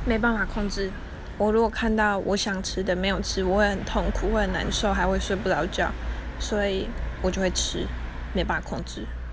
没办法控制。我如果看到我想吃的没有吃，我会很痛苦，会很难受，还会睡不着觉，所以我就会吃，没办法控制。